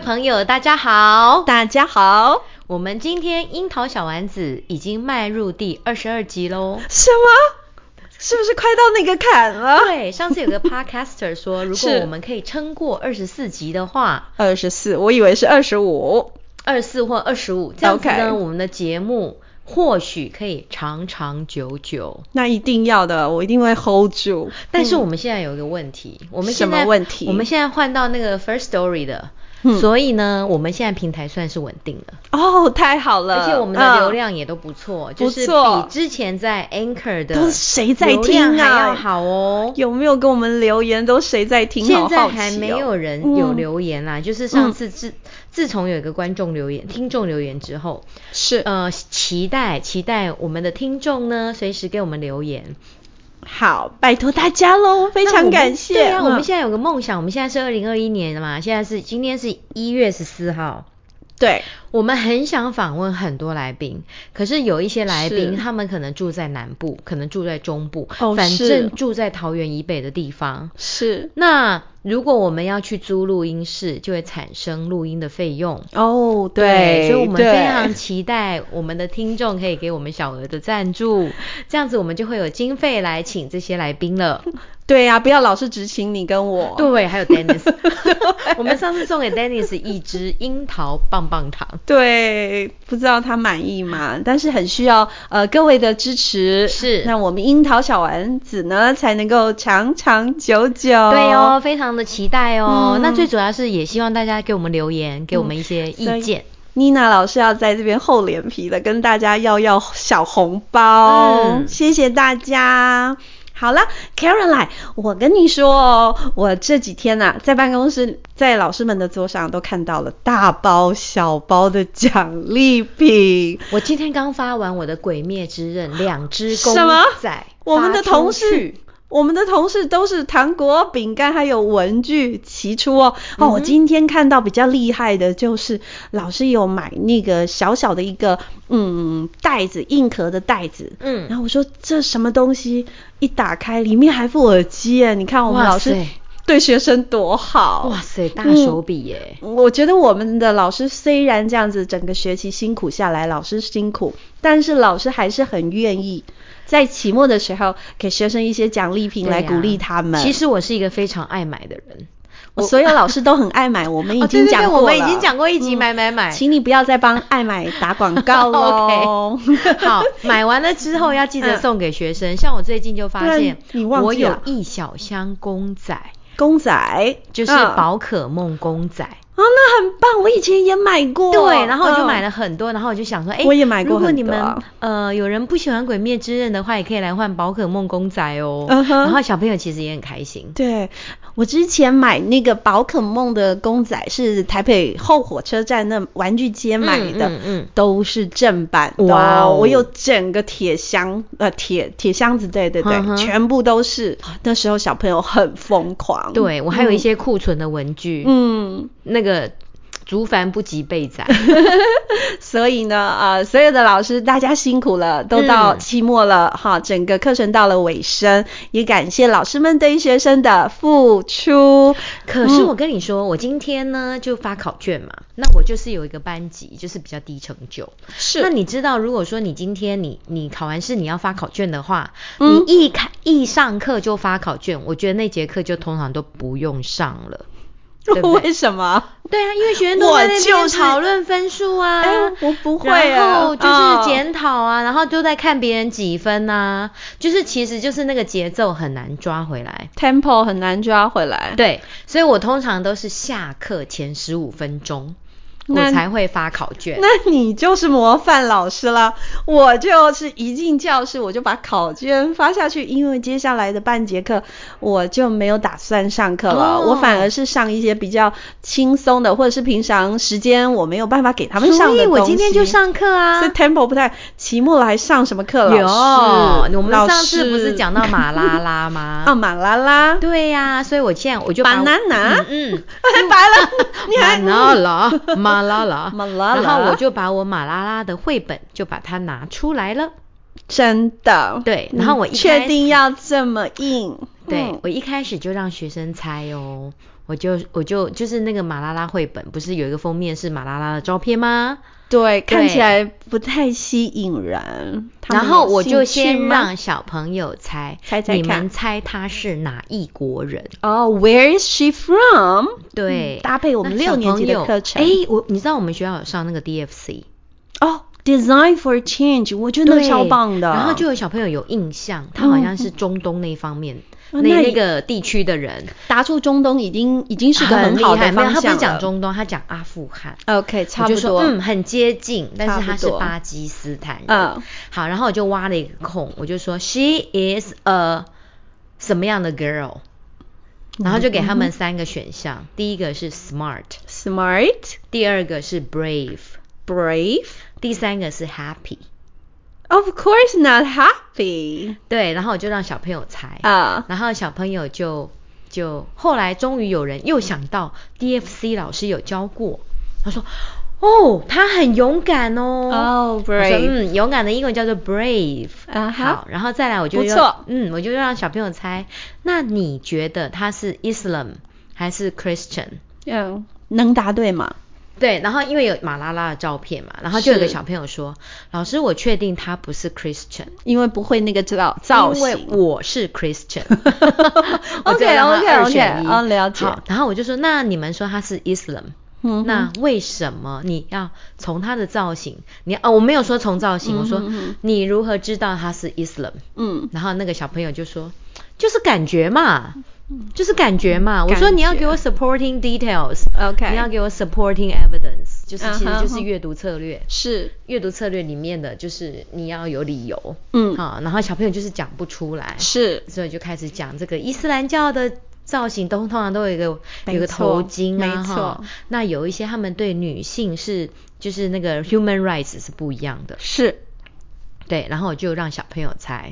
朋友大家好， 大家好， 我們今天櫻桃小丸子已經邁入第22集咯。 什麼？是不是快到那個坎了？ 對，上次有個 podcaster 說如果我們可以撐過24集的話 ，24，我以為是25，24 或25，這樣子呢，我們的節目或許可以長長久久。 那一定要的，我一定會 hold 住。 但是我們現在有一個問题，我们什么問題？ 我們現在換到那個 First Story 的，所以呢，我們現在平台算是穩定了。 哦，太好了！ 而且我們的流量也都不錯，就是比之前在 Anchor 的都誰在聽啊？ 流量還要好哦。 有沒有跟我們留言？都誰在聽？ 現在還沒有人有留言啦，就是上次自從有一個觀眾留言、聽眾留言之後， 是期待我們的聽眾呢，隨時給我們留言。 好，拜託大家嘍，非常感謝。 對啊，我們現在有個夢想，我們現在是2021年了嘛，今天是1月14號。 對， 我們很想訪問很多來賓，可是有一些來賓他們可能住在南部，可能住在中部，反正住在桃園以北的地方。 是。 那如果我們要去租錄音室，就會產生錄音的費用。 哦，對， 所以我們非常期待我們的聽眾可以給我們小額的贊助，這樣子我們就會有經費來請這些來賓了。 對呀，不要老是只請你跟我。 對，還有 Dennis。我們上次送給 Dennis 一支櫻桃棒棒糖。 對，不知道他滿意嗎？但是很需要各位的支持。是。那我們櫻桃小丸子呢，才能夠長長久久。 對哦，非常的期待哦。那最主要是也希望大家給我們留言，給我們一些意見。 妮娜老師要在這邊厚臉皮的跟大家要小紅包。謝謝大家。好了 Caroline， 我跟你說哦，我這幾天啊，在辦公室，在老師們的桌上都看到了大包小包的獎勵品。 我今天剛發完我的鬼滅之刃2隻公仔。 什麼？我們的同事都是糖果、餅乾還有文具齊出哦。我今天看到比較厲害的就是老師有買那個小小的一個袋子，硬殼的袋子。然後我說這什麼東西？一打開裡面還附耳機耶！你看我們老師對學生多好。 哇塞，大手筆耶！ 我覺得我們的老師雖然這樣子整個學期辛苦下來，老師辛苦，但是老師還是很願意在期末的時候給學生一些獎勵品來鼓勵他們。 其實我是一個非常愛買的人， 所有老師都很愛買，我們已經講過了。 我們已經講過一集買， 請你不要再幫愛買打廣告咯。 好，買完了之後要記得送給學生。像我最近就發現，我有一小箱公仔就是寶可夢公仔。 那很棒，我以前也買過。 對，然後我就買了很多，然後我就想說， 我也買過很多。 如果你們有人不喜歡鬼滅之刃的話，也可以來換寶可夢公仔哦。然後小朋友其實也很開心。 對，我之前買那個寶可夢的公仔是台北後火車站那玩具街買的，都是正版的。哇，我有整個鐵箱子，對，全部都是。那時候小朋友很瘋狂。 對，我還有一些庫存的文具。那個竹凡不及備載。 所以呢，所有的老師大家辛苦了，都到期末了哈，整個課程到了尾聲，也感謝老師們對學生的付出。 可是我跟你說，我今天呢就發考卷嘛，那我就是有一個班級就是比較低成就。是。那你知道，如果說你今天你考完試你要發考卷的話，你一上課就發考卷，我覺得那節課就通常都不用上了。對對， 為什麼？ 對啊，因為學生都在那邊討論分數啊， 我不會然後就是檢討啊，然後都在看別人幾分啊，就是其實就是那個節奏很難抓回來 ，tempo 很難抓回來。 對，所以我通常都是下課前15分鐘。我才會發考卷。 那你就是模範老師了。我就是一進教室我就把考卷發下去，因為接下來的半節課我就沒有打算上課了。我反而是上一些比較輕鬆的，或者是平常時間我沒有辦法給他們上的東西。所以我今天就上課啊。 所以 tempo 不太，期末了還上什麼課？老師， 我們上次不是講到馬拉拉嗎？ 馬拉拉。 對呀，所以我現在我就把 banana，太白了，你還马拉拉，然後我就把我马拉拉的繪本就把它拿出來了。 真的？ 對，然後我確定要這麼硬？ 對，我一開始就讓學生猜哦，我就是那個馬拉拉繪本，不是有一個封面是馬拉拉的照片嗎？ 對，看起來不太吸引人。 然後我就先讓小朋友猜看， 你們猜他是哪一國人？ 哦、Where is she from？ 對， 搭配我們6年級的課程。 你知道我們學校有上那個 DFC 哦。Design for Change， 我覺得超棒的。 然後就有小朋友有印象，他好像是中東那方面、那個地區的人， 答出中東已經是個很好的方向了。 沒有，他不是講中東，他講阿富汗。 OK， 差不多。 我就說很接近，但是他是巴基斯坦人。好，然後我就挖了一個空，我就說 She is a 什麼樣的 girl， 然後就給他們3個選項，第一個是 smart， 第二個是 brave， 第三個是 happy。Of course not happy。 對，然後我就讓小朋友猜然後小朋友就後來終於有人又想到 DFC 老師有教過，他說他很勇敢哦。 brave。 勇敢的英文叫做 brave。好，然後再來我就我就讓小朋友猜，那你覺得他是 Islam 還是 Christian？ 能答对嗎？ 对，然後因為有馬拉拉的照片嘛，然後就有個小朋友說，老師我確定他不是 Christian， 因為不會那個造型， 因為我是 Christian。 OK， 了解。 好，然後我就說，那你們說他是 Islam，那為什麼你要從他的造型，我沒有說從造型，我說你如何知道他是 Islam？ 然後那個小朋友就說，就是感覺嘛。就是感覺嘛，我說你要給我 supporting details， 你要給我 supporting evidence， 就是其實就是閱讀策略， 是閱讀策略裡面的就是你要有理由，然後小朋友就是講不出來， 是， 所以就開始講這個伊斯蘭教的造型通常都有一個頭巾啊， 沒錯， 那有一些他們對女性就是那個 human rights 是不一樣的， 是。 對，然後我就讓小朋友猜，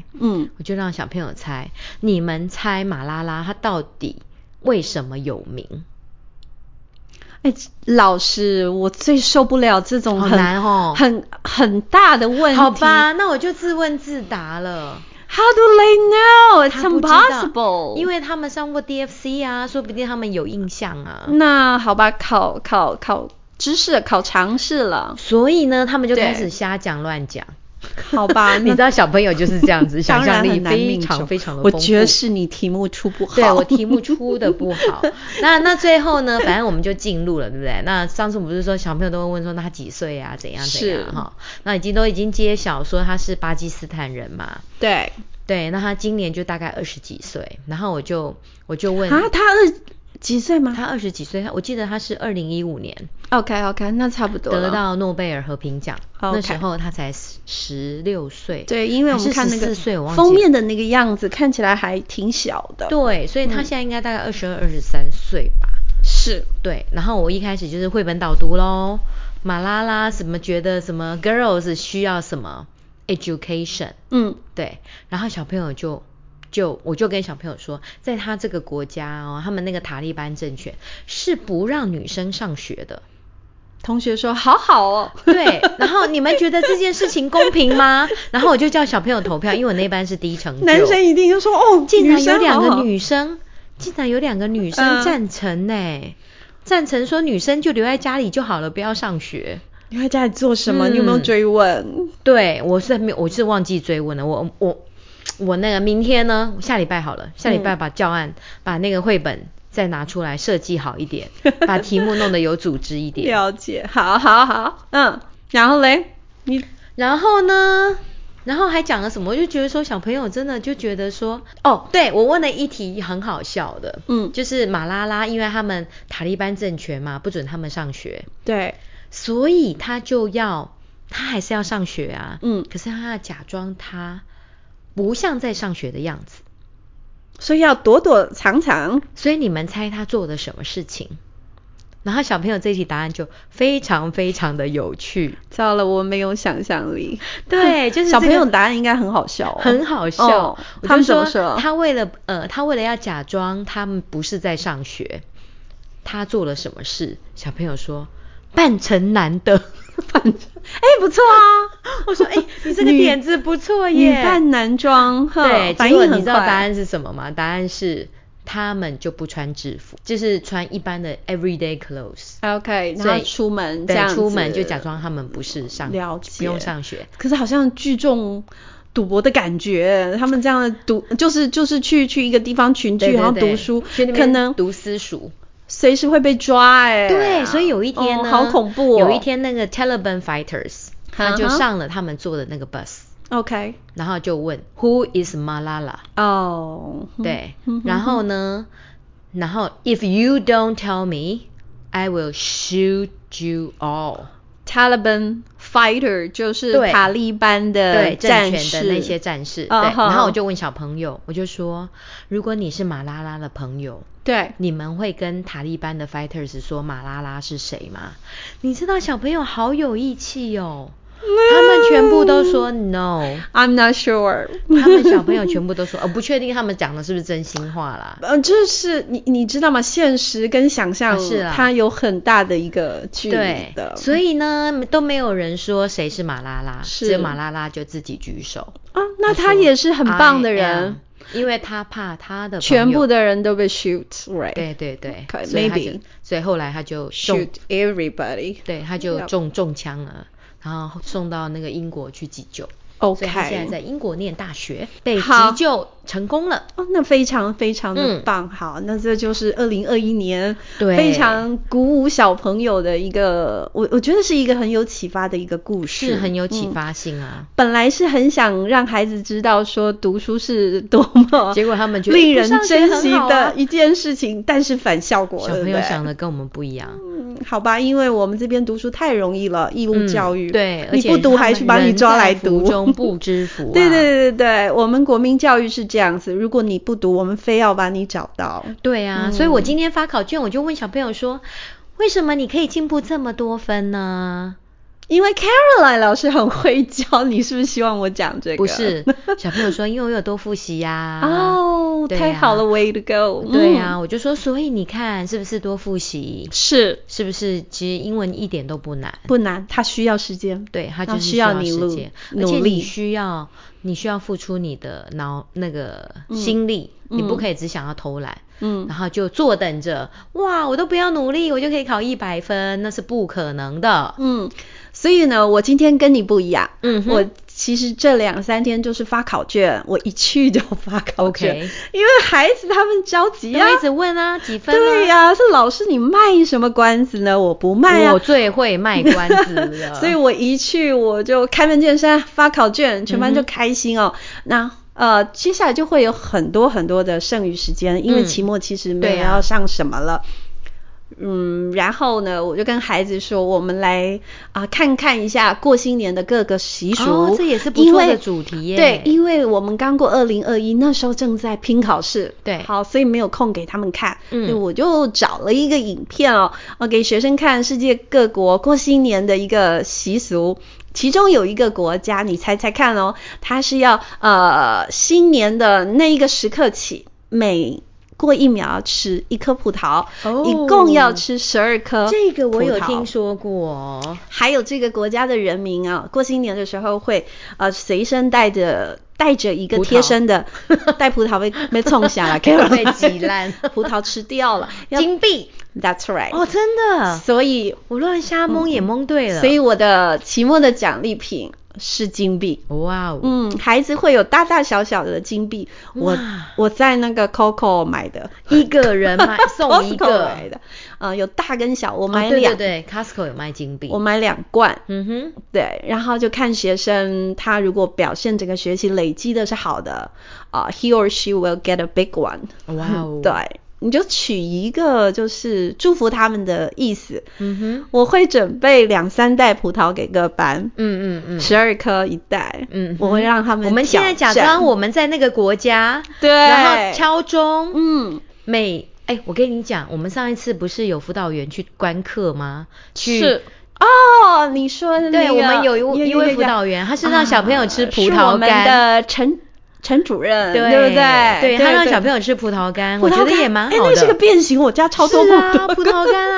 你們猜馬拉拉她到底為什麼有名？ 老師，我最受不了這種好難很大的問題。 好吧，那我就自問自答了。 How do they know? It's impossible. 因為他們上過 DFC 啊，說不定他們有印象啊。 那好吧，考知識，考常識了。 所以呢，他們就開始瞎講亂講。 好吧， 你知道小朋友就是這樣子，想象力非常非常的豐富。 我覺得是你題目出不好。 对，我題目出的不好。那最後呢，反正我們就進入了，對不對？那上次我们不是說小朋友都會問說，那他幾歲啊？怎樣哈？那都已經揭曉說他是巴基斯坦人嘛。對，那他今年就大概20幾歲。然後我就問他幾歲嗎？ 他20幾歲，我記得他是2015年。 OK， 那差不多了。 得到諾貝爾和平獎，那時候他才16歲。 對，因為我們看那個封面的那個樣子，看起來還挺小的。 對，所以他現在應該大概22、23歲吧。 是。 對，然後我一開始就是繪本導讀咯，馬拉拉什麼覺得什麼 girls 需要什麼 education。對，然後小朋友我就跟小朋友說，在他這個國家他們那個塔利班政權是不讓女生上學的。 同學說好哦。 對，然後你們覺得這件事情公平嗎？然後我就叫小朋友投票，因為我那班是低成就。 男生一定就說竟然有2個女生，贊成呢，贊成說女生就留在家裡就好了，不要上學。 留在家裡做什麼？你有沒有追問？ 對，我是忘記追問了，我那個明天呢，下禮拜好了，下禮拜把教案把那個繪本再拿出來設計好一點，把題目弄得有組織一點。 了解，好，然後嘞， 然後呢，然後還講了什麼？我就覺得說小朋友真的就覺得說，對，我問了一題很好笑的，就是馬拉拉，因為他們塔利班政權嘛，不准他們上學， 對， 所以他還是要上學啊，可是他要假裝他不像在上學的樣子， 所以要躲躲藏藏。所以你們猜他做的什麼事情？然後小朋友這題答案就非常非常的有趣。 糟了，我沒有想象力。 對，就是小朋友答案應該很好笑很好笑。 他們怎麼說？ 他為了要假裝他們不是在上學，他做了什麼事？小朋友說扮成男的。 反正不錯啊。 我說你這個點子不錯耶， 女扮男裝， 對， 反應很快。 結果你知道答案是什麼嗎？答案是他們就不穿制服，就是穿一般的 everyday clothes。OK， 然後出门这樣子， 对，出门就假装他們不是了解，不用上学。 可是好像聚众賭博的感覺，他們這樣的就是去一個地方群聚，然後讀書，可能讀私塾。 隨時會被抓對，所以有一天呢， 好恐怖有一天那個 Taliban fighters 他就上了他們坐的那個 bus。OK， 然後就問 Who is Malala？ 对，然後呢，If you don't tell me, I will shoot you all。Taliban fighter 就是塔利班的政权的那些战士。对，然後我就問小朋友，我就說，如果你是馬拉拉的朋友，对，你們會跟塔利班的 fighters 說馬拉拉是誰嗎？你知道小朋友好有義氣哦。他們全部都說 No，I'm not sure。 他們小朋友全部都說，不確定他們講的是不是真心話啦。 就是你知道嗎？現實跟想象它有很大的一個距離的。 對，所以呢，都沒有人說誰是馬拉拉，只有馬拉拉就自己舉手。 那他也是很棒的人， 因為他怕他的朋友全部的人都被 shoot。Right？ 对 ，maybe。 所以後來他就 shoot everybody。 對，他就中槍了。然後送到那個英國去急救。 OK， 所以他現在在英國念大學，被急救成功了。 那非常非常的棒。好，那這就是2021年非常鼓舞小朋友的一個，我覺得是一個很有啟發的一個故事， 是很有啟發性啊。 本來是很想讓孩子知道說讀書是多麼， 結果他們覺得令人珍惜的一件事情，但是反效果了。 小朋友想的跟我們不一樣。 好吧，因為我們這邊讀書太容易了，義務教育。 對， 你不讀還去把你抓來讀。 人在福中不知福。 对，我們國民教育是這樣子，如果你不讀，我們非要把你找到。 對啊，所以我今天發考卷，我就問小朋友說，為什麼你可以進步這麼多分呢？ 因為 Caroline 老師很會教，你是不是希望我講這個？ 不是，小朋友說因為我有多複習呀。 太好了 ，way to go。 對啊，我就說，所以你看是不是多複習？ 是不是？其實英文一點都不難， 不難，它需要時間。 對，它就是需要時間，而且你需要付出你的那個心力，你不可以只想要偷懶，然後就坐等着，哇，我都不要努力，我就可以考100分，那是不可能的。 所以呢，我今天跟你不一樣，我其實這2-3天就是發考卷，我一去就發考卷，因為孩子他們着急啊， 一直問啊，幾分啊？ 對啊，是老師你賣什麼關子呢？我不賣啊， 我最會賣關子了。 所以我一去我就開門見山發考卷，全班就開心哦。那接下來就會有很多很多的剩餘時間，因為期末其實沒有要上什麼了。然後呢，我就跟孩子說，我們來看看一下過新年的各個習俗。 這也是不錯的主題耶。 對，因為我們剛過2021，那時候正在拼考試。 對， 好，所以沒有空給他們看。所以我就找了一個影片給學生看世界各國過新年的一個習俗。其中有一個國家，你猜猜看它是要新年的那一個時刻起，每過1秒要吃1顆葡萄，一共要吃12顆。 這個我有聽說過。 還有這個國家的人民過新年的時候會隨身帶着一個貼身的，帶葡萄被衝下來，被擠爛，葡萄吃掉了。 金幣 ，That's right。 真的。所以我亂瞎蒙也蒙對了。 所以我的期末的獎勵品是金幣。 哇孩子會有大大小小的金幣。我在那個 Coco 買的， 一個人送一個買的。有大跟小，我買2。 對 Costco 有賣金幣， 我買2罐。對，然後就看學生他如果表現整個學期累積的是好的，he or she will get a big one。對。你就取一個就是祝福他們的意思。我會準備2-3袋葡萄給各班。12顆一袋。我會讓他們。 我們現在假裝我們在那個國家。 對。 然後敲鐘。我跟你講，我們上一次不是有輔導員去觀課嗎？ 是。你說的那個。 對，我們有一位輔導員，他是讓小朋友吃葡萄乾。 是我們的陳主任，對不對？ 對，他讓小朋友吃葡萄乾，我覺得也蠻好的。 那是個變形，我家超多葡萄乾。 葡萄乾啊，你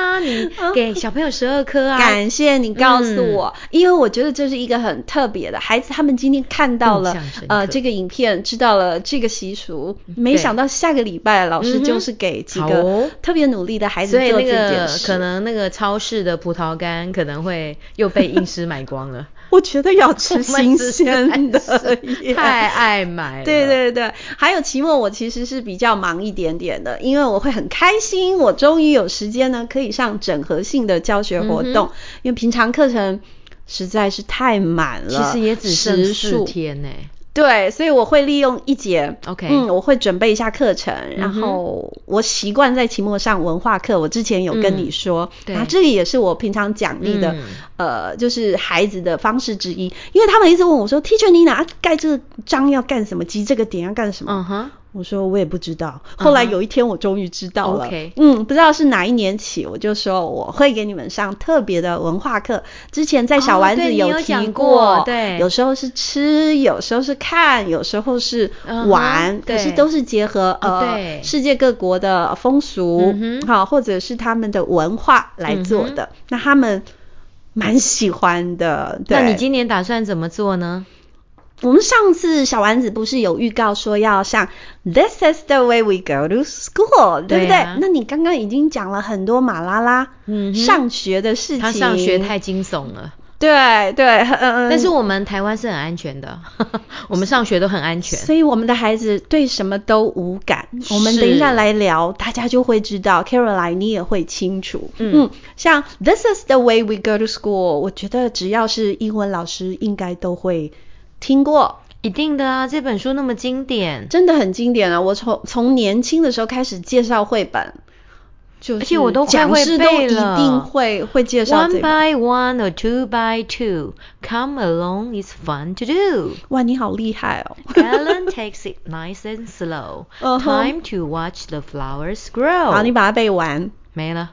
給小朋友12顆啊。 感謝你告訴我，因為我覺得這是一個很特別的孩子，他們今天看到了這個影片，知道了這個習俗，沒想到下個禮拜老師就是給幾個特別努力的孩子做這件事。 可能那個超市的葡萄乾可能會又被醫師買光了。 我覺得要吃新鮮的， 太愛買了。 對對對，還有期末我其實是比較忙一點點的，因為我會很開心，我終於有時間呢可以上整合性的教學活動，因為平常課程實在是太滿了， 其實也只剩4天呢。 對，所以我會利用一節 ，OK， 我會準備一下課程，然後我習慣在期末上文化課，我之前有跟你說，然後這個也是我平常獎勵的，就是孩子的方式之一，因為他們一直問我說 ，Teacher 你哪蓋這個章要幹什麼，記這個點要幹什麼？我說我也不知道，後來有一天我終於知道了，不知道是哪一年起，我就說我會給你們上特別的文化課。之前在小丸子有提過， 對， 有時候是吃，有時候是看，有時候是玩，可是都是結合世界各國的風俗，好，或者是他們的文化來做的。那他們蠻喜歡的。 那你今年打算怎麼做呢？ 我們上次小丸子不是有預告說要上 This is the way we go to school， 對不對？那你剛剛已經講了很多馬拉拉上學的事情。 他上學太驚悚了。 對对， 但是我們台灣是很安全的，我們上學都很安全， 所以我們的孩子對什麼都無感。我們等一下來聊，大家就會知道。Caroline 你也會清楚。像 This is the way we go to school， 我覺得只要是英文老師應該都會聽過。 一定的啊，這本書那麼經典， 真的很經典啊！我從年輕的時候開始介紹繪本， 而且我都快會背了， 一定會介紹這個。 One by one or two by two, come along, it's fun to do. 哇，你好厲害哦 ！Ellen takes it nice and slow. Time to watch the flowers grow. 好，你把它背完。 沒了。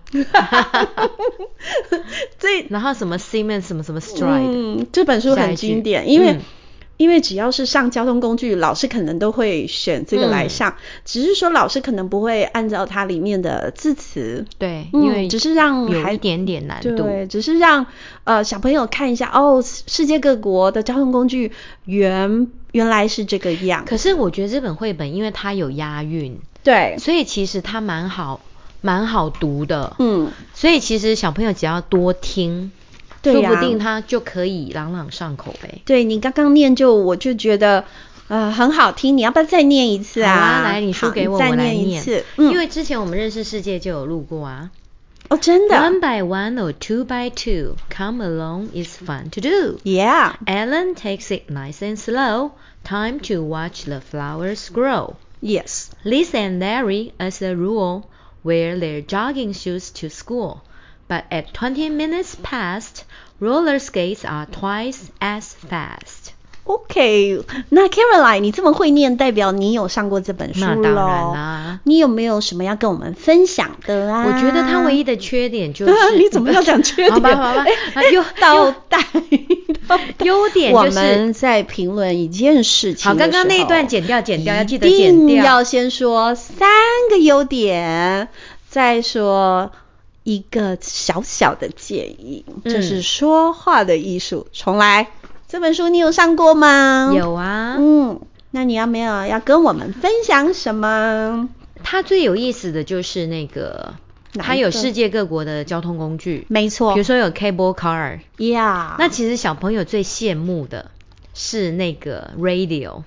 然後什麼 Siemens 什麼 Stride， 這本書很經典，因為只要是上交通工具，老師可能都會選這個來上，只是說老師可能不會按照它裡面的字詞， 對，因為只是讓有一點點難度， 對，只是讓小朋友看一下世界各國的交通工具原來是這個樣。 可是我覺得這本繪本因為它有押韻， 對， 所以其實它蠻好讀的，所以其實小朋友只要多聽。說不定他就可以朗朗上口唄。 對，你剛剛念我就覺得很好聽，你要不要再念一次啊？ 好啊，來，你說給我， 再念一次。 因為之前我們認識世界就有錄過啊。 哦，真的。 One by one or two by two, come along, it's fun to do. Yeah. Ellen takes it nice and slow. Time to watch the flowers grow. Yes. Liz and Larry, as a rule, wear their jogging shoes to school.But at 20 minutes past, roller skates are twice as fast. OK， 那 Caroline 你這麼會念，代表你有上過這本書咯。 那當然啦。你有沒有什麼要跟我們分享的啊？ 我覺得它唯一的缺點就是你怎麼要講缺點？ 好吧， 倒帶。 優點就是我們在評論一件事情的時候， 好，剛剛那一段剪掉，要記得剪掉。 一定要先說3個優點，再說一個小小的建議，就是說話的藝術。重來，這本書你有上過嗎？ 有啊。 那你有沒有要跟我們分享什麼？ 它最有意思的就是那個，它有世界各国的交通工具， 沒錯。 比如說有 cable car， 那其實小朋友最羨慕的是那個 radio。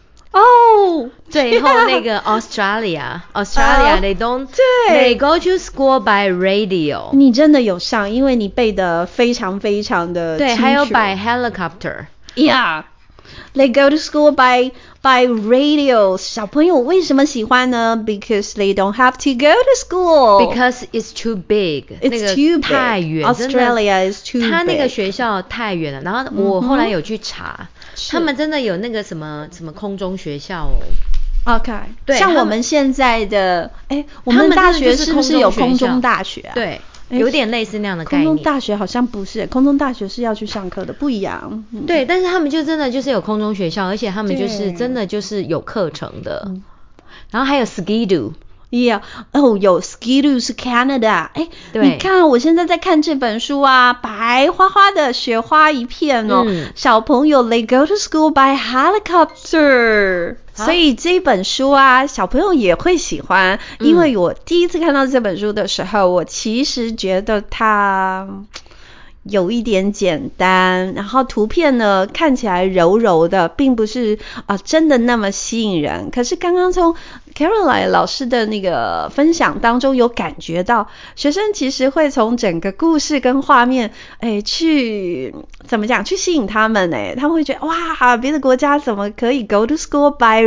最後那個 Australia they go to school by radio。 你真的有上，因為你背得非常非常的清楚。 對，還有 by helicopter。 They go to school by radio。小朋友為什麼喜歡呢？ Because they don't have to go to school. Because it's too big. It's too big. 太遠。 Australia is too big. 他那個學校太遠了。然後我後來有去查，他們真的有那個什麼空中學校哦。 OK， 對，像我們現在的，我們大學是不是有空中大學啊？ 對。有點類似那樣的概念。 空中大學好像不是，空中大學是要去上課的，不一樣。 對，但是他們就真的就是有空中學校，而且他們就是真的就是有課程的。然後還有 Ski-Doo。 Yeah， 有 Ski-Doo 是 Canada， 你看我現在在看這本書啊，白花花的雪花一片哦，小朋友 They go to school by helicopter，所以這本書啊，小朋友也會喜歡，因為我第一次看到這本書的時候，我其實覺得它有一點簡單，然後圖片呢看起來柔柔的，並不是真的那麼吸引人。可是剛剛從 Caroline 老師的那個分享當中有感覺到，學生其實會從整個故事跟畫面去怎麼講，去吸引他們他們會覺得哇，別的國家怎麼可以 go to school by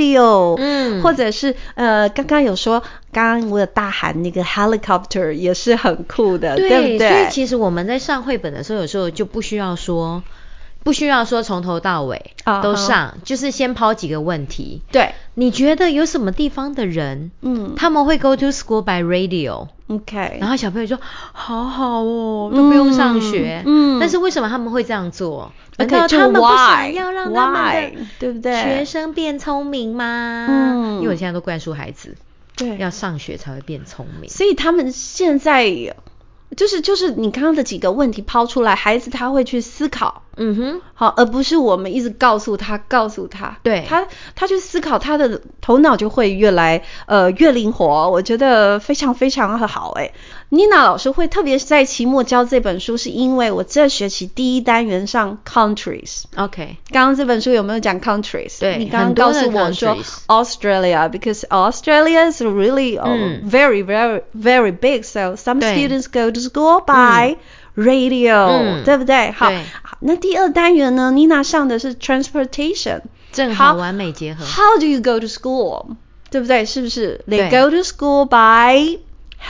radio，或者是剛剛有說，剛剛我有大喊那個 helicopter 也是很酷的， 對不對？ 所以其實我們在上繪本的時候，有時候就不需要說從頭到尾都上，就是先拋幾個問題。对，你覺得有什麼地方的人，他們會 go to school by radio？OK， 然後小朋友說好好哦，都不用上學。但是為什麼他們會這樣做？難道他們不想要讓他們的對不对學生變聰明嗎？因為我现在都灌輸孩子，對，要上學才會變聰明。 所以他們現在就是你剛剛的幾個問題拋出來，孩子他會去思考，好，而不是我們一直告訴他，對，他去思考，他的頭腦就會越靈活，我覺得非常非常好Nina 老師會特別在期末教這本書，是因為我這學期第一單元上 countries。OK， 剛剛這本書有沒有講 countries？ 對，你剛剛告訴我說 Australia，because Australia is really very very very big，so some students go to school by radio，对不对？好，那第二單元呢 ，Nina 上的是 transportation， 正好完美結合。 How do you go to school？ 對不對？是不是 ？They go to school by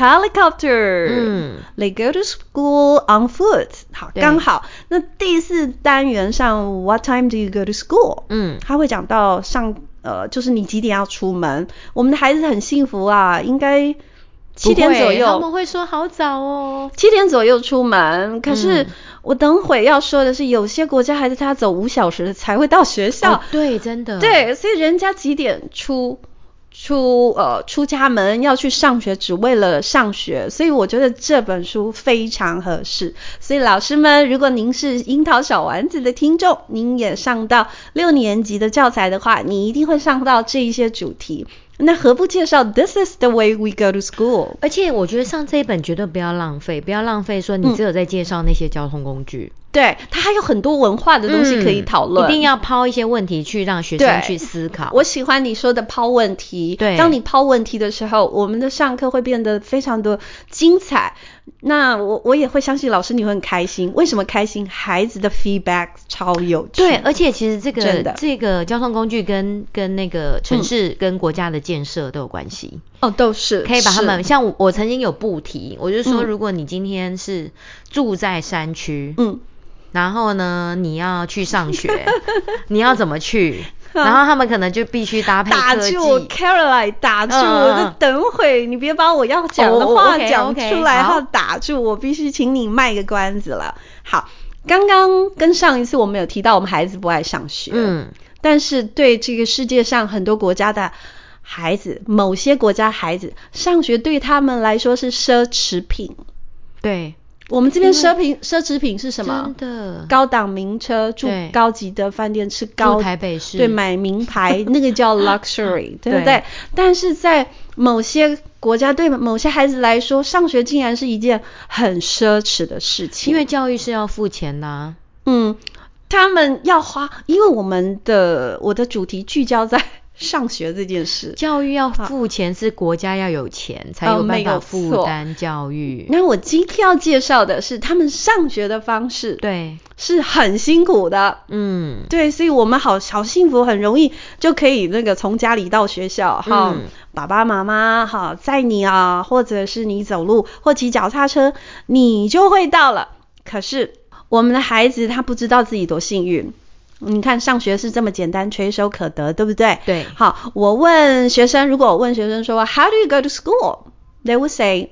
helicopter， they go to school on foot， 好，剛好。那第四單元上 What time do you go to school？ 他會講到就是你幾點要出門。我們的孩子很幸福啊，應該7點左右。 他們會說好早哦 ，7點左右出門。可是我等會要說的是，有些國家孩子他走5小時才會到學校。 對，真的。 對，所以人家幾點出家門要去上學，只為了上學，所以我覺得這本書非常合適。所以老師們，如果您是櫻桃小丸子的聽眾，您也上到6年級的教材的話，你一定會上到這一些主題。那何不介紹 This is the way we go to school？ 而且我覺得上這一本絕對不要浪費說你只有在介紹那些交通工具。 對，它還有很多文化的東西可以討論， 一定要拋一些問題去讓學生去思考。 我喜歡你說的拋問題。對，當你拋問題的時候，我們的上課會變得非常的精彩。那我也會相信老師你會很開心。為什麼開心？孩子的 feedback 超有趣。 對，而且其實這個交通工具跟那個城市跟國家的建設都有關係。 都是可以把他們，像我曾經有布題，我就說如果你今天是住在山區，然後呢你要去上學你要怎麼去？然後他們可能就必須搭配科技。打住 Caroline， 打住，我就等會你別把我要講的話講出來，然後打住，我必須請你賣個關子了。好，剛剛跟上一次我們有提到我們孩子不愛上學，但是對這個世界上很多國家的孩子，某些國家孩子上學對他們來說是奢侈品。对，我們這邊奢侈品是什麼？真的，高檔名車，住高級的飯店，吃高台北市， 對，買名牌，那個叫 luxury， 對不對？但是在某些國家，對某些孩子來說，上學竟然是一件很奢侈的事情， 因為教育是要付錢的啊。 他們要花，因為我的主題聚焦在上學這件事， 教育要付錢，是國家要有錢才有辦法負擔教育。 那我今天要介紹的是他們上學的方式， 對， 是很辛苦的。对，所以我们好幸福，很容易就可以那個從家裡到學校，爸爸媽媽載你啊，或者是你走路或騎腳踏車，你就會到了。可是我們的孩子他不知道自己多幸運。你看上學是這麼簡單，垂手可得，對不對？對。好，如果我問學生說 How do you go to school? They would say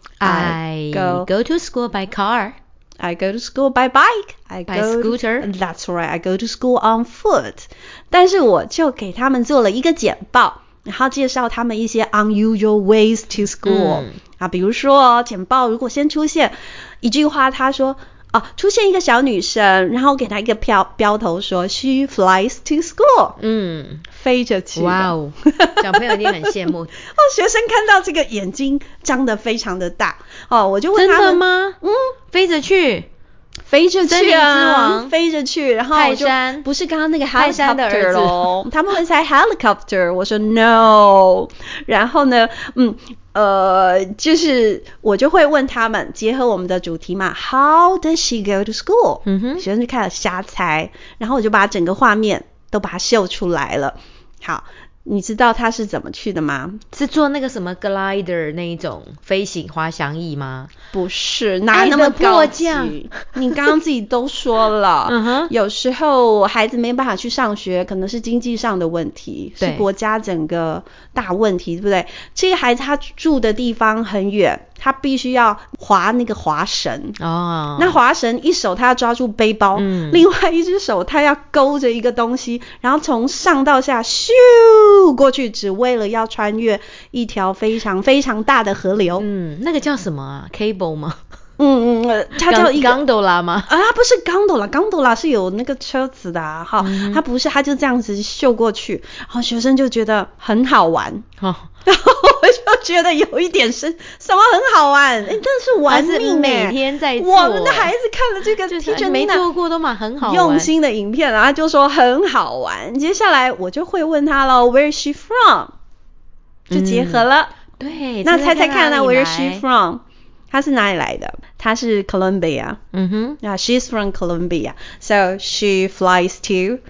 I go to school by car. I go to school by bike. By scooter. That's right. I go to school on foot. 但是我就給他們做了一個簡報。 然後介紹他們一些 unusual ways to school、比如說簡報如果先出現一句話，他說出現一個小女生，然後給她一個標頭說 she flies to school， 飛着去。 哇哦，小朋友一定很羨慕。 學生看到這個眼睛張得非常的大我就問他們，真的嗎？ 飛着去。 飛着去啊， 飛着去，然後我就不是刚剛那個 helicopter 咯，他們會猜 helicopter， 我說 no， 然後呢，就是我就會問他們，結合我們的主題嘛 ，How does she go to school？ 學生就開始瞎猜，然後我就把整個畫面都把它秀出來了。好。你知道他是怎麼去的嗎？ 是坐那個什麼 glider 那一種飛行滑翔翼嗎？ 不是，哪那麼高級？你剛剛自己都說了，有時候孩子沒辦法去上學，可能是經濟上的問題，是國家整個大問題，對不對？這個孩子他住的地方很遠，他必須要滑那個滑繩那滑繩一手他要抓住背包，另外一隻手他要勾着一個東西，然後從上到下咻過去，只為了要穿越一條非常非常大的河流。 那個叫什麼啊 ？Cable 嗎？ 它叫一個 gondola 嗎？ 不是 gondola 是有那個車子的它不是，它就這樣子秀過去，然後學生就覺得很好玩。然後我就覺得有一點是什么很好玩，真的是玩命每天在做。 我們的孩子看了這個就是沒做過都蠻很好玩用心的影片，然後就說很好玩。接下來我就會問他了 ，Where is she from？ 就結合了。 對， 那猜猜看呢 ，Where is she from？ 她是哪裡來的？她是 Colombia。She's from Colombia，so she flies to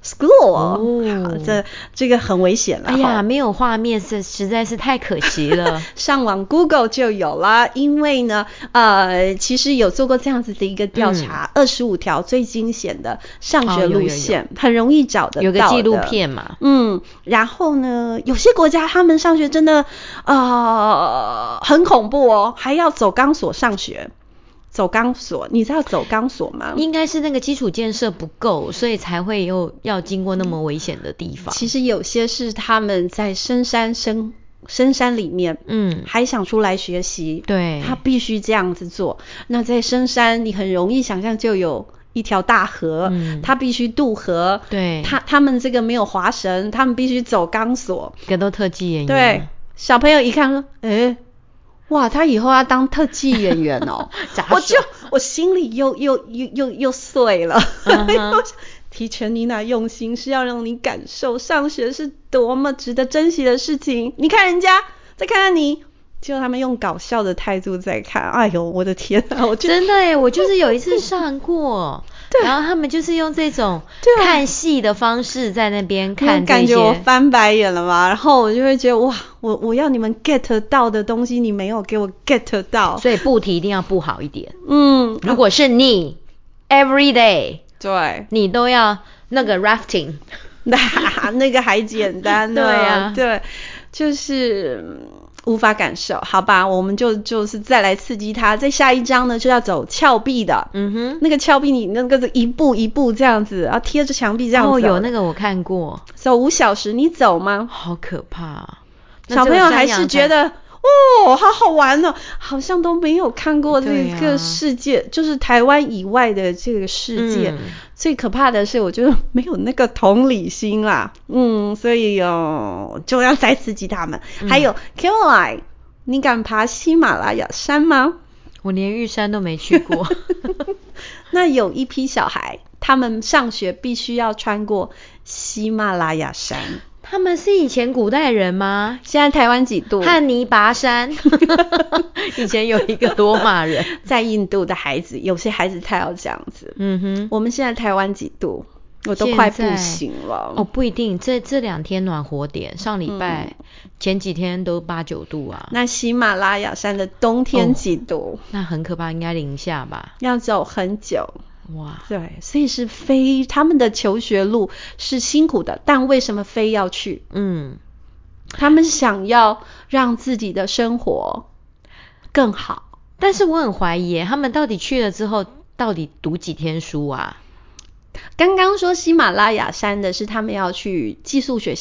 school。好，這個很危險了。 哎呀，沒有畫面實在是太可惜了。 上網 Google 就有了，因為呢，其實有做過這樣子的一個調查，25條最驚險的上學路線，很容易找得到的。 有個紀錄片嘛。 然後呢，有些國家他們上學真的很恐怖哦，還要走鋼索上學。走鋼索，你知道走鋼索嗎？ 應該是那個基礎建設不夠，所以才會要經過那麼危險的地方。 其實有些是他們在深山裡面，還想出來學習， 對， 他必須這樣子做。那在深山，你很容易想象就有一條大河，他必須渡河， 對， 他們這個沒有滑繩，他們必須走鋼索， 這個都特技演員。 對，小朋友一看說，哇，他以後要當特技演員哦！我心裡又碎了。提前妮娜用心是要讓你感受上學是多麼值得珍惜的事情。你看人家，再看看你，就他們用搞笑的態度在看。哎呦，我的天啊！ 真的耶，我就是有一次上過。然後他們就是用這種看戲的方式在那邊看這些， 感覺我翻白眼了嘛。然後我就會覺得哇，我要你們 get 到的東西，你沒有給我 get 到， 所以布題一定要布好一點。如果是你 every day， 對， 你都要那個 rafting， 那個還簡單呢。對啊，對，就是無法感受，好吧，我們就是再來刺激他。在下一章呢，就要走峭壁的。那個峭壁你那個一步一步這樣子，然後貼着牆壁這樣走。 有那個我看過， 走5小時，你走嗎？ 好可怕。 小朋友還是覺得好好玩哦，好像都沒有看過這個世界，就是台灣以外的這個世界。最可怕的是，我覺得沒有那個同理心啦。所以就要再刺激他們。還有 Caroline， 你敢爬喜馬拉雅山嗎？ 我連玉山都沒去過。 那有一批小孩，他們上學必須要穿過喜馬拉雅山。 他們是以前古代人嗎？ 現在台灣幾度？ 漢尼拔山。以前有一個羅馬人。 在印度的孩子，有些孩子他要這樣子。我們現在台灣幾度？我都快不行了。 不一定，這2天暖和點，上禮拜前幾天都8、9度啊。 那喜馬拉雅山的冬天幾度？ 那很可怕，應該零下吧？ 要走很久。 哇， 對，所以是他們的求學路是辛苦的，但為什麼非要去？他們想要讓自己的生活更好。 但是我很懷疑他們到底去了之後到底讀幾天書啊？ 剛剛說喜馬拉雅山的是他們要去寄宿學校，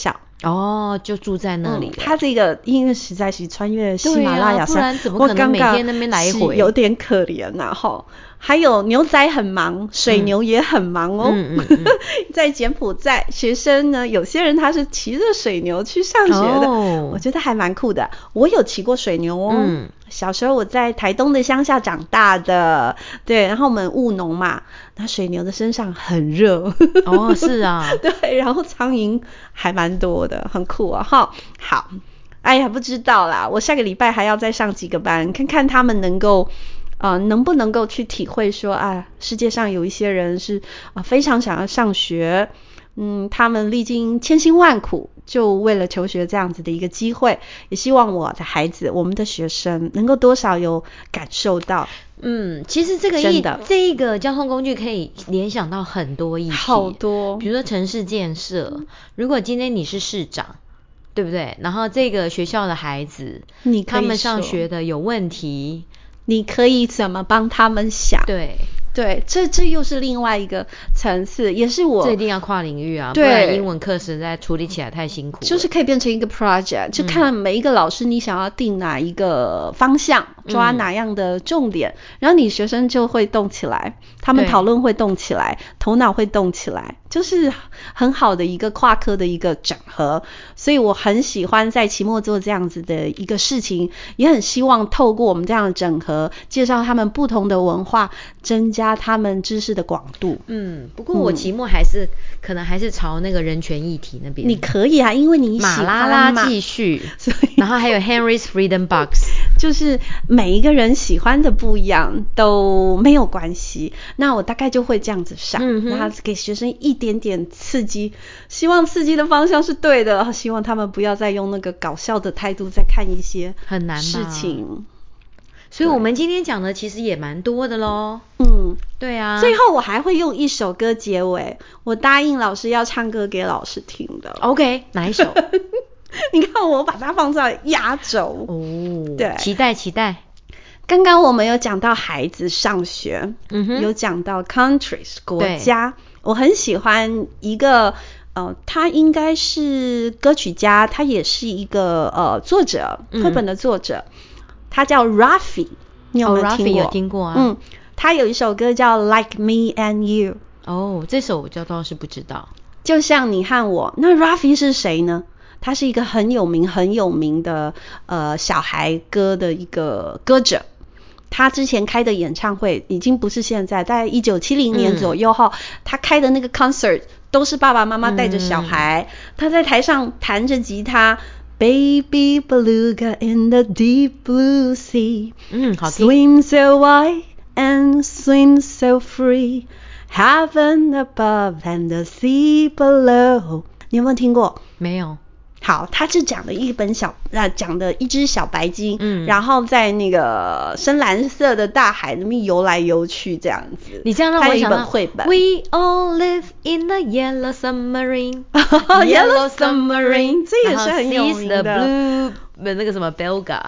哦，就住在那裡了。 他這個因為實在是穿越喜馬拉雅山， 不然怎麼可能每天那邊來回？ 有點可憐啊齁。還有牛仔很忙，水牛也很忙哦。在柬埔寨，學生呢，有些人他是騎着水牛去上學的，我覺得還蠻酷的。我有騎過水牛哦。小時候我在台東的鄉下長大的，對，然後我們務農嘛，那水牛的身上很熱。 哦，是啊， 對，然後蒼蠅還蠻多的，很酷啊齁。好，哎呀，不知道啦，我下個禮拜還要再上幾個班，看看他們能不能夠去體會說啊，世界上有一些人是非常想要上學，他們歷經千辛萬苦，就為了求學這樣子的一個機會，也希望我的孩子，我們的學生能夠多少有感受到。 其實這一個交通工具可以聯想到很多議題， 好多， 比如說城市建設，如果今天你是市長，對不對？然後這個學校的孩子，他們上學的有問題， 你可以怎麼幫他們想？对，這又是另外一個層次，也是這一定要跨領域啊，不然英文課實在處理起來太辛苦了。 就是可以變成一個 project，就看每一個老師你想要定哪一個方向，抓哪樣的重點，然後你學生就會動起來，他們討論會動起來，頭腦會動起來，就是很好的一個跨科的一個整合。所以我很喜歡在期末做這樣子的一個事情，也很希望透過我們這樣的整合，介紹他們不同的文化，增加他們知識的廣度。 不過我期末可能還是朝那個人權議題那邊。 你可以啊，因為你喜歡嘛。馬拉拉繼續，然後還有 Henry's Freedom Box， 就是每一個人喜歡的不一樣都沒有關係。那我大概就會這樣子上，然後給學生一點點刺激，希望刺激的方向是對的，希望他們不要再用那個搞笑的態度在看一些很難事情。 所以我們今天講的其實也蠻多的咯。對啊。 最後我還會用一首歌結尾，我答應老師要唱歌給老師聽的。 OK， 哪一首？ 你看我把它放在壓軸。對， 期待。 剛剛我們有講到孩子上學，有講到 countries 國家，我很喜歡一個他應該是歌曲家，他也是一個作者，繪本的作者。他叫 Raffi， 你有沒有聽過？ 有聽過啊。 他有一首歌叫 Like Me and You。 这首我倒是不知道。 就像你和我。那 Raffi 是誰呢？他是一個很有名的小孩歌的一個歌者。他之前開的演唱會已經不是現在，在1970年左右後，他開的那個 concert 都是爸爸媽媽帶着小孩，他在台上彈着吉他。Baby beluga in the deep blue sea, 好聽。 Swim so wide and swim so free, Heaven above and the sea below。 你有沒有聽過？ 沒有。 好，他是講的講的一隻小白鯨，然後在那個深藍色的大海裡面游來游去這樣子。 你這樣讓我想到繪本。 We all live in the yellow submarine。 Yellow submarine， 這也是很有名的。 Blue 那個什麼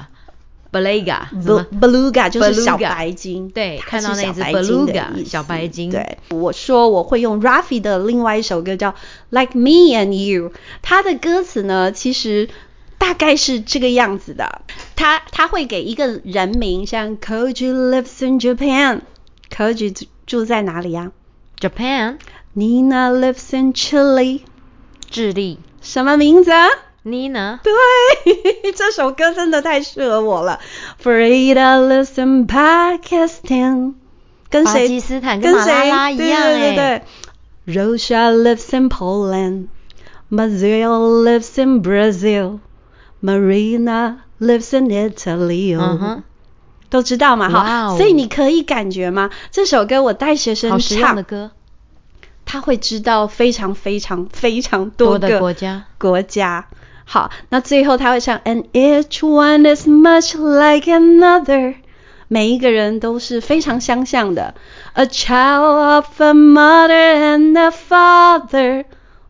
Beluga 就是小白鯨。 對，看到那隻 Beluga 小白鯨。 對，我說我會用 Raffi 的另外一首歌叫 Like Me and You， 它的歌詞呢其實大概是這個樣子的。他會給一個人名，像 Koji lives in Japan， Koji 住在哪裡啊？ Japan。 Nina lives in Chile， 智利。 什麼名字啊 ？Nina。 對，這首歌真的太適合我了。Farida lives in Pakistan， 跟誰？ 巴基斯坦跟馬拉拉一樣。 對。Rosha lives in Poland， Maziel lives in Brazil， Marina lives in Italy。都知道嘛哈，所以你可以感覺嗎？這首歌我帶學生唱，好實用的歌。他會知道非常非常非常多個國家。好，那最後他會唱 And each one is much like another， 每一個人都是非常相像的。A child of a mother and a father，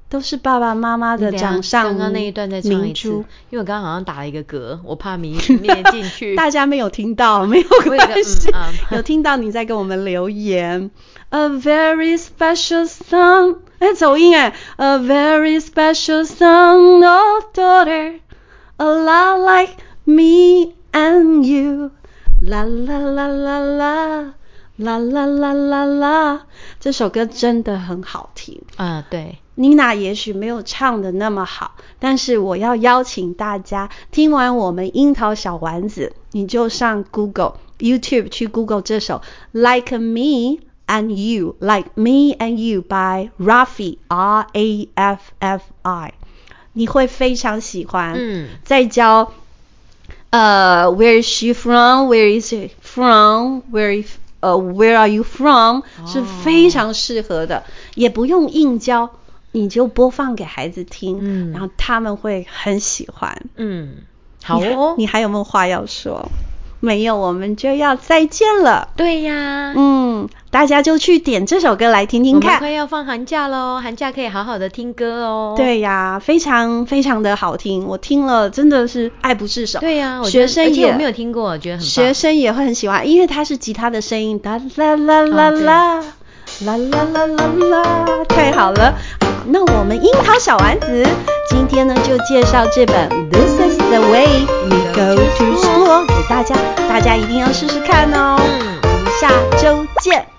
都是爸爸媽媽的掌上明珠。 剛剛那一段再唱一次，因為我剛剛好像打了一個嗝，我怕沒進去。 大家沒有聽到，沒有關係。有聽到你在跟我們留言。A very special song， 走音A very special song, oh daughter, a lot like me and you. La la la la la, la la la la la。這首歌真的很好聽。 對。 妮娜也許沒有唱得那麼好，但是我要邀請大家，聽完我們櫻桃小丸子，你就上 YouTube 去 Google 這首 Like Me and You, Like Me and You by Raffi, R-A-F-F-I， 你會非常喜歡。再教Where is she from? Where is it from? Where are you from? 是非常適合的，也不用硬教，你就播放給孩子聽，然後他們會很喜歡。 好哦。 你還有沒有話要說？沒有，我們就要再見了。 對呀。 大家就去點這首歌來聽聽看。 我們快要放寒假咯，寒假可以好好的聽歌哦。 對呀，非常非常的好聽，我聽了真的是愛不釋手。 對呀， 学生也， 而且我沒有聽過，我覺得很棒。 學生也會很喜歡，因為它是吉他的聲音，啦啦啦啦啦，啦啦啦啦啦，太好了。那我們櫻桃小丸子今天呢就介紹這本 This is the way we go to school 給大家，大家一定要試試看哦。我們下周見。